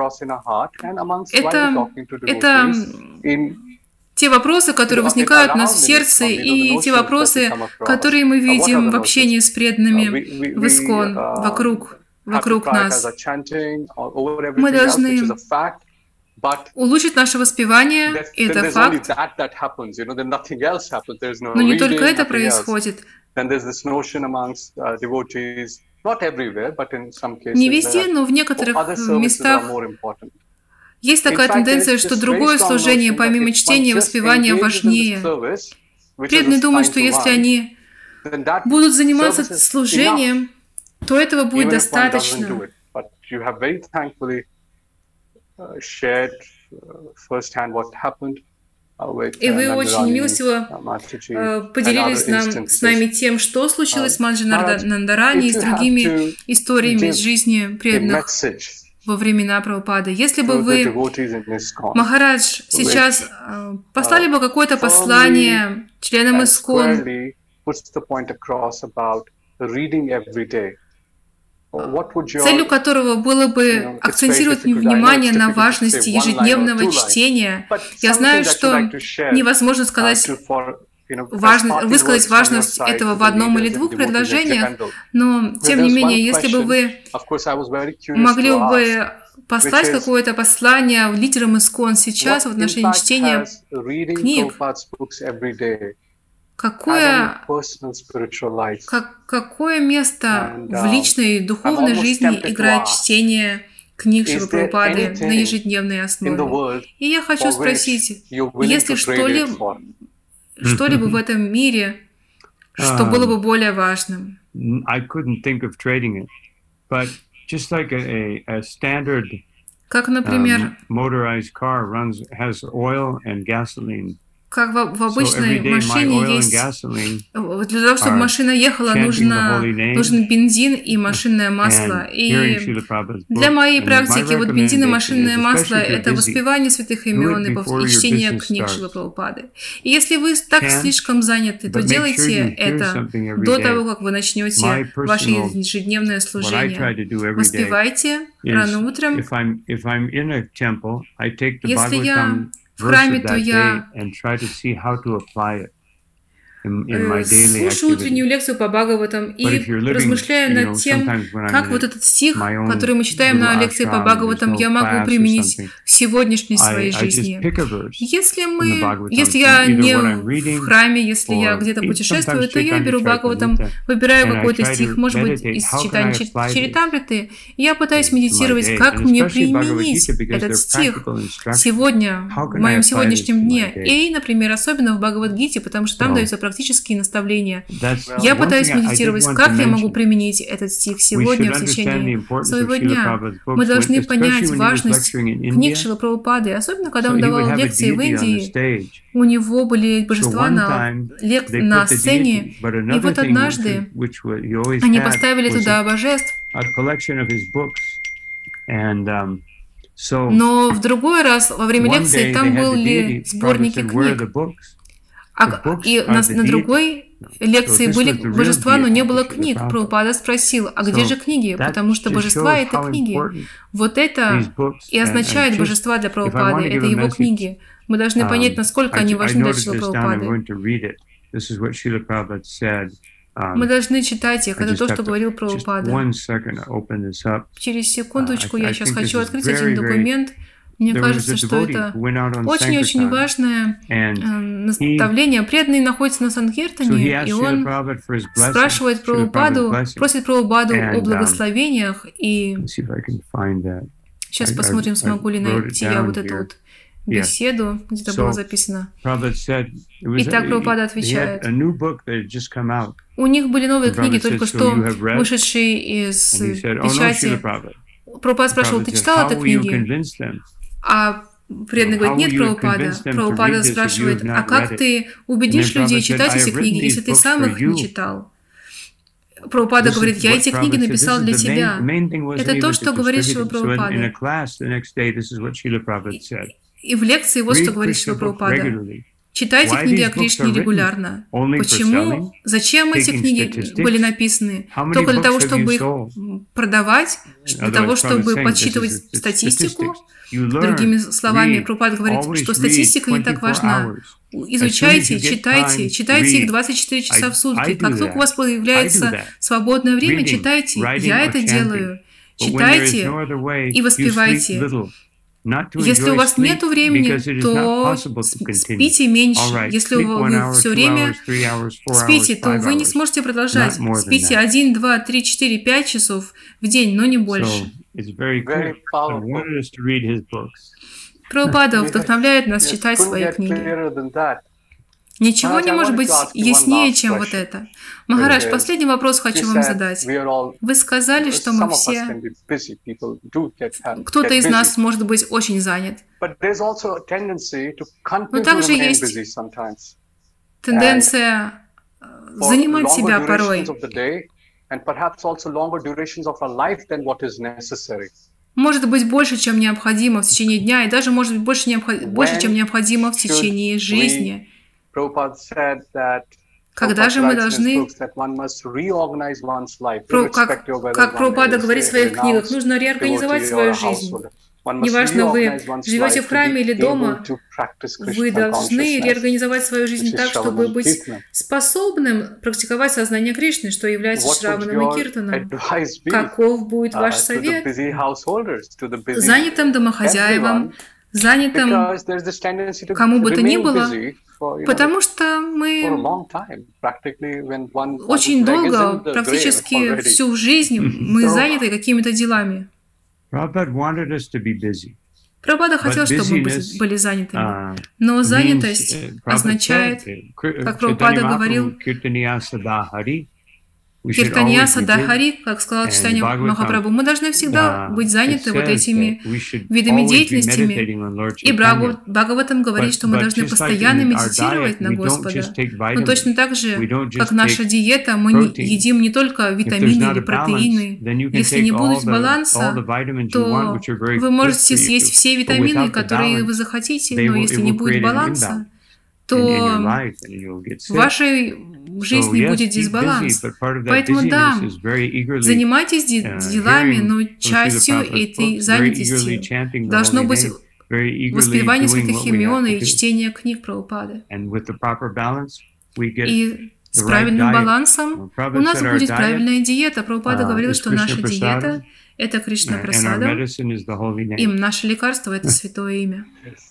Это те вопросы, которые возникают у нас в сердце, и те вопросы, которые мы видим в общении с преданными в ИСККОН, вокруг нас. Мы должны улучшить наше воспевание, и это факт. Но не только это происходит. Не везде, но в некоторых местах есть такая тенденция, что другое служение, помимо чтения и воспевания, важнее. Преданные думают, что если они будут заниматься служением, то этого будет достаточно. И вы очень милостиво поделились с нами тем, что случилось с Маджи Нандарани и с другими историями из жизни преданных во времена Прабхупады. Если бы вы, Махарадж, сейчас послали бы какое-то послание членам ИСККОН, целью которого было бы акцентировать внимание на важности ежедневного чтения. Я знаю, что невозможно высказать важность этого в одном или двух предложениях, но, тем не менее, если бы вы могли бы послать какое-то послание лидерам ИСККОН сейчас в отношении чтения книг, какое место в личной и духовной жизни играет чтение книг Шрилы Прабхупады на ежедневной основе? И я хочу спросить, есть ли что-либо в этом мире, что было бы более важным? Как, например, как в обычной машине есть... Для того, чтобы машина ехала, нужен бензин и машинное масло. И для моей практики вот бензин и машинное масло – это воспевание святых имен и чтение книг Шрилы Прабхупады. И если вы так слишком заняты, то делайте это до того, как вы начнете ваше ежедневное служение. Воспевайте рано утром. Если я в храме, то я слушаю утреннюю лекцию по Бхагаватам и размышляю над тем, как вот этот стих, который мы читаем на лекции по Бхагаватам, я могу применить в сегодняшней своей жизни. Если я не в храме, если я где-то путешествую, то я беру Бхагаватам, выбираю какой-то стих, может быть, из читания Чаритамриты, и я пытаюсь медитировать, как мне применить этот стих сегодня, в моем сегодняшнем дне. И, например, особенно в Бхагавад-гите, потому что там даются практические наставления. Я пытаюсь медитировать, как я могу применить этот стих сегодня в течение своего дня. Мы должны понять важность книг Шрилы Прабхупады, особенно когда он давал лекции в Индии. У него были божества на сцене, и вот однажды они поставили туда божеств. Но в другой раз, во время лекции, там были сборники книг. И на другой лекции были божества, но не было книг. Прабхупада спросил, а где же книги? Потому что божества — это книги. Вот это и означает божества для Прабхупады, это его книги. Мы должны понять, насколько они важны для Шрилы Прабхупады. Мы должны читать их. Это то, что говорил Прабхупада. Через секундочку я сейчас хочу открыть один документ. Мне кажется, что это очень-очень важное наставление. Преданный находится на Санкиртане, и он спрашивает Прабхупаду, просит Прабхупаду о благословениях. И сейчас посмотрим, смогу ли найти я вот эту вот беседу, где-то было записано. Итак, Прабхупада отвечает. У них были новые книги, только что вышедшие из печати. Прабхупада спрашивал, ты читал эти книги? А преданный говорит, нет, Прабхупада. Прабхупада спрашивает, а как ты убедишь людей читать эти книги, если ты сам их не читал? Прабхупада говорит, я эти книги написал для тебя. Это то, что говорит Шрила Прабхупада. И в лекции вот что говорит Шрила Прабхупада. Читайте книги о Кришне регулярно. Почему? Зачем эти книги были написаны? Только для того, чтобы их продавать, для того, чтобы подсчитывать статистику? Другими словами, Прабхупада говорит, что статистика не так важна. Изучайте, читайте их 24 часа в сутки. Как только у вас появляется свободное время, читайте. Я это делаю. Читайте и воспевайте. Если у вас нет времени, то спите меньше. Если вы все время спите, то вы не сможете продолжать. Спите 1, 2, 3, 4, 5 часов в день, но не больше. Прабхупада вдохновляет нас читать свои книги. Ничего не может быть яснее, чем вот это. Махарадж, последний вопрос хочу вам задать. Вы сказали, что мы все... Кто-то из нас может быть очень занят. Но также есть тенденция занимать себя порой. Может быть больше, чем необходимо в течение дня, и даже может быть больше, чем необходимо в течение жизни. Когда же мы должны, как Прабхупада говорит в своих книгах, нужно реорганизовать свою жизнь. Неважно, вы живете в храме или дома, вы должны реорганизовать свою жизнь так, чтобы быть способным практиковать сознание Кришны, что является Шраваном и Киртаном. Каков будет ваш совет занятым домохозяевам, занятым кому бы то ни было, потому что мы очень долго, практически всю жизнь, мы заняты какими-то делами. Прабхупада хотел, чтобы мы были занятыми, но занятость означает, как Прабхупада говорил, Киртания Садахари, как сказал читание Махапрабху, мы должны всегда быть заняты вот этими видами деятельностями. И Бхагаватам говорит, что мы должны постоянно медитировать на Господа. Но точно так же, как наша диета, мы едим не только витамины или протеины. Если не будет баланса, то вы можете съесть все витамины, которые вы захотите, но если не будет баланса, то в вашей жизни будет дисбаланс. Поэтому да, занимайтесь делами, но частью этой занятости должно быть воспевание святых имен и чтение книг Прабхупады. И с правильным балансом у нас будет правильная диета. Прабхупада говорил, что наша диета — это Кришна Прасада, и наше лекарство — это Святое Имя.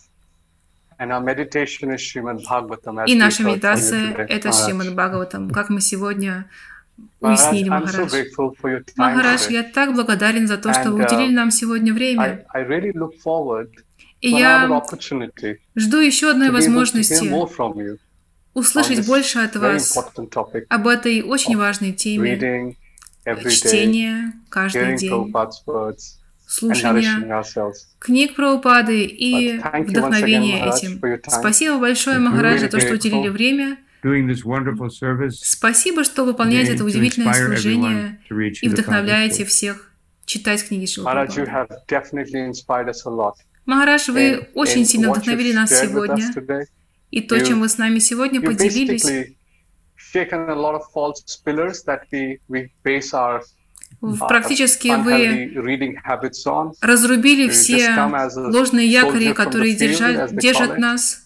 И наша медитация — это Шримад Бхагаватам, как мы сегодня уяснили, Махарадж. Махарадж, я так благодарен за то, что вы уделили нам сегодня время. И я жду еще одной возможности услышать больше от вас об этой очень важной теме чтения каждый день, слушания книг Прабхупады и вдохновения этим. Спасибо большое, Махарадж, за то, что уделили время. Спасибо, что выполняете это удивительное служение и вдохновляете всех читать книги Шрилы Прабхупады. Махарадж, вы очень сильно вдохновили нас сегодня. И то, чем вы с нами сегодня поделились, shaken a lot of false pillars that we base our практически вы разрубили все ложные якори, которые держат нас.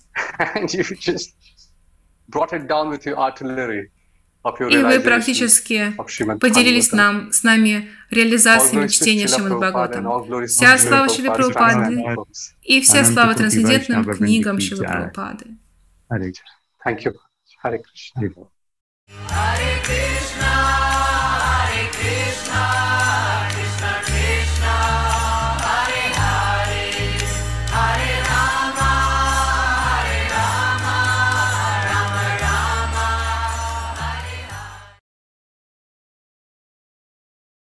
И вы практически поделились с нами реализацией чтения Шримад Бхагаватам. Вся слава Шрилы Прабхупады и вся слава трансцендентным книгам Шрилы Прабхупады. Thank you. Hare Krishna.